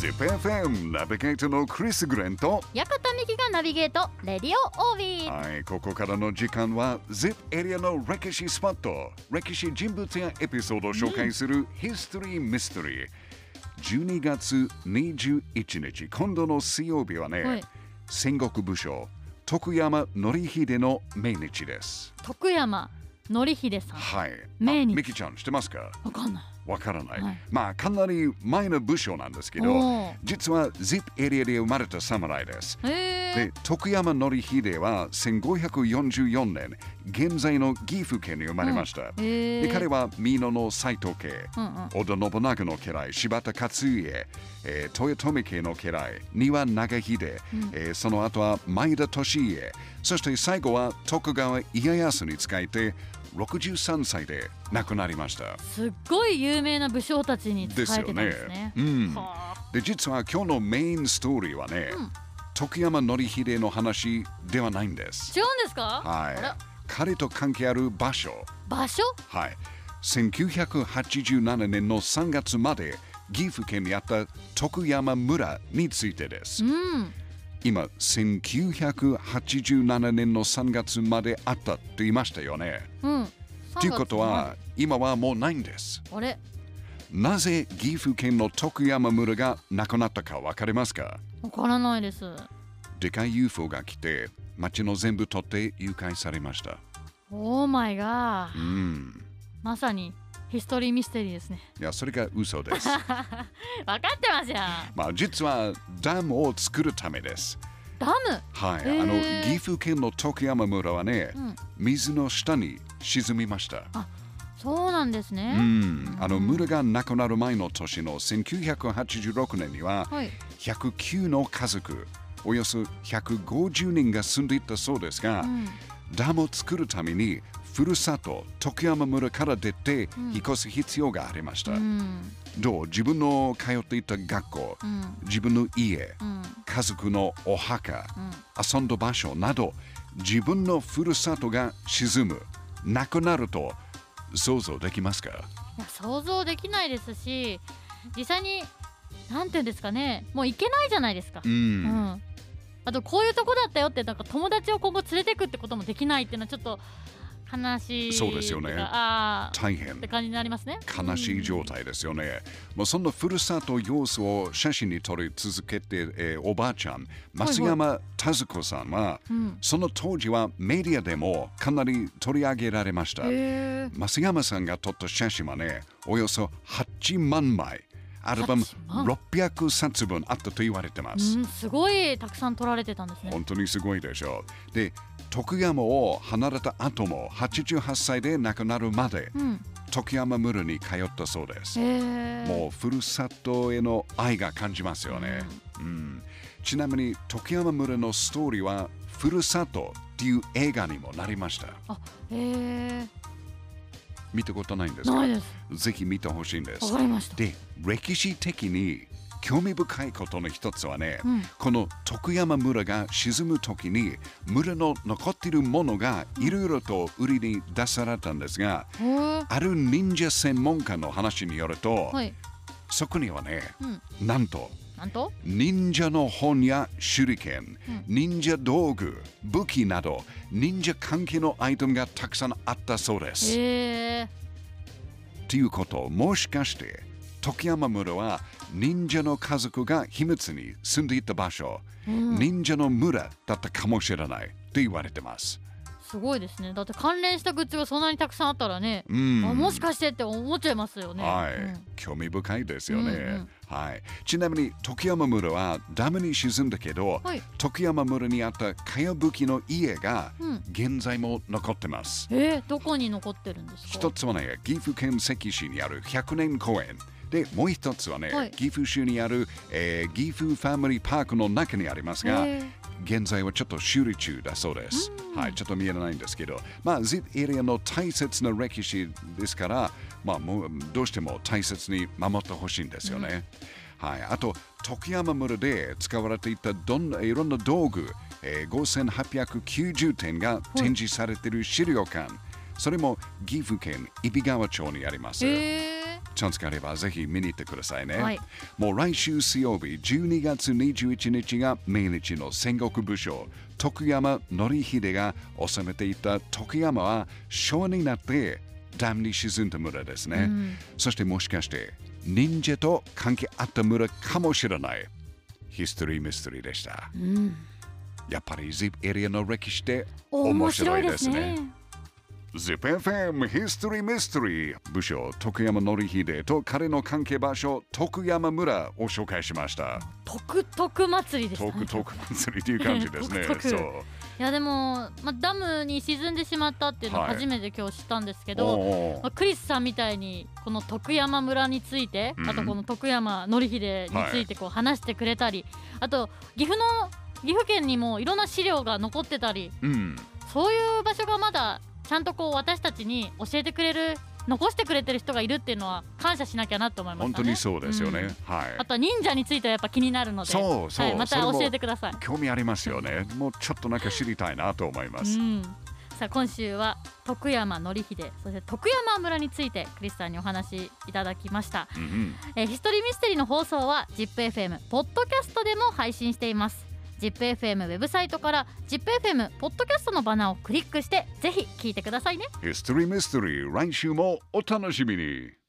ZIPFM ナビゲートのクリス・グレンと館美希がナビゲートレディオオービー。 はい、ここからの時間は ZIP エリアの歴史スポット、歴史人物やエピソードを紹介するヒストリー・ミステリー。12月21日、今度の水曜日はね、 はい、 戦国武将徳山典秀の命日です。 徳山典秀さん。 はい。 命日。 ミキちゃん知ってますか？ わかんない。 わからない、 はい、 まあかなり前の武将なんですけど、実は ZIP エリアで生まれた侍です。で、徳山典秀は1544年現在の岐阜県に生まれました。で、彼は美濃の斎藤家、織田信長の家来、柴田勝家、豊臣家の家来、丹羽長秀、その後は前田利家、そして最後は徳川家康に仕えて63歳で亡くなりました。 すっごい有名な武将たちに仕えてたんですね。 で、実は今日のメインストーリーはね、徳山典秀の話ではないんです。 違うんですか？ はい。彼と関係ある場所。 はい。 1987年の3月まで岐阜県にあった徳山村についてです。今、1987年の3月まであったって言いましたよね。ということは、今はもうないんです。 あれ？ なぜ岐阜県の徳山村がなくなったかわかりますか？ わからないです。 でかい UFO が来て、町の全部取って誘拐されました。 オーマイガー。まさにヒストリーミステリーですね。 いや、それが嘘です。 分かってますよ。 まあ、実はダムを作るためです。 ダム？ はい。岐阜県の徳山村はね、水の下に沈みました。 あ、そうなんですね。 村がなくなる前の年の1986年には、109の家族、およそ150人が住んでいたそうですが、ダムを作るためにふるさと徳山村から出て引っ越す必要がありました。自分の通っていた学校、自分の家、家族のお墓、遊んだ場所など、自分のふるさとが沈む、なくなると想像できますか？いや、想像できないですし、実際になんていうんですかね、もう行けないじゃないですか。あとこういうとこだったよってなんか友達を今後連れてくってこともできないっていうのはちょっと悲しい。 そうですよね。大変って感じになりますね。 悲しい状態ですよね。もうそんなふるさと様子を写真に撮り続けて、おばあちゃん増山田子さんは、その当時はメディアでもかなり取り上げられました。増山さんが撮った写真はね、およそ8万枚。アルバム600冊分あったと言われてます。 すごいたくさん撮られてたんですね。 本当にすごいでしょう。で、徳山を離れた後も88歳で亡くなるまで、徳山村に通ったそうです。もうふるさとへの愛が感じますよね。ちなみに徳山村のストーリーはふるさとっていう映画にもなりました。見たことないんですか？ ないです。 ぜひ見てほしいんです。 わかりました。 で、歴史的に興味深いことの一つはね、この徳山村が沈む時に村の残っているものがいろいろと売りに出されたんですが、ある忍者専門家の話によると、そこにはね、なんと忍者の本や手裏剣、忍者道具、武器など忍者関係のアイテムがたくさんあったそうです。ということ、もしかして徳山村は忍者の家族が秘密に住んでいた場所、忍者の村だったかもしれないと言われてます。 すごいですね。だって関連したグッズがそんなにたくさんあったらね、もしかしてって思っちゃいますよね。 興味深いですよね。ちなみに徳山村はダムに沈んだけど、徳山村にあったかやぶきの家が現在も残ってます。 どこに残ってるんですか？ 一つはね、岐阜県関市にある100年公園で、もう一つはね、岐阜市にある、岐阜ファミリーパークの中にありますが、現在はちょっと修理中だそうです。ちょっと見えないんですけど、ZIP エリアの大切な歴史ですから、もうどうしても大切に守ってほしいんですよね。あと、徳山村で使われていたいろんな道具、5890点が展示されている資料館、それも岐阜県揖斐川町にあります。 チャンスがあればぜひ見に行ってくださいね。 はい、 もう来週水曜日12月21日が命日の戦国武将徳山典秀が治めていた徳山は昭和になってダムに沈んだ村ですね。そしてもしかして忍者と関係あった村かもしれないヒストリーミステリーでした。やっぱり ZIP エリアの歴史って面白いですね。ZIPFM ヒストリーミステリー武将徳山典秀と彼の関係場所徳山村を紹介しました。 徳々祭りですね。 徳祭りという感じですね。そういやでも、ダムに沈んでしまったっていうのを初めて今日知ったんですけど、クリスさんみたいにこの徳山村について、あとこの徳山典秀についてこう話してくれたり、あと岐阜県にもいろんな資料が残ってたり、そういう場所がまだちゃんとこう私たちに教えてくれる残してくれてる人がいるっていうのは感謝しなきゃなと思いましたね。 本当にそうですよね。 あとは忍者についてはやっぱ気になるので、また教えてください。 興味ありますよね。もうちょっとなんか知りたいなと思います。 さあ今週は徳山典秀、そして徳山村についてクリスさんにお話いただきました。ヒストリーミステリーの放送は ZIPFM ポッドキャストでも配信しています。ZIPFM ウェブサイトから ZIPFM ポッドキャストのバナーをクリックしてぜひ聞いてくださいね。 ヒストリーミステリー来週もお楽しみに。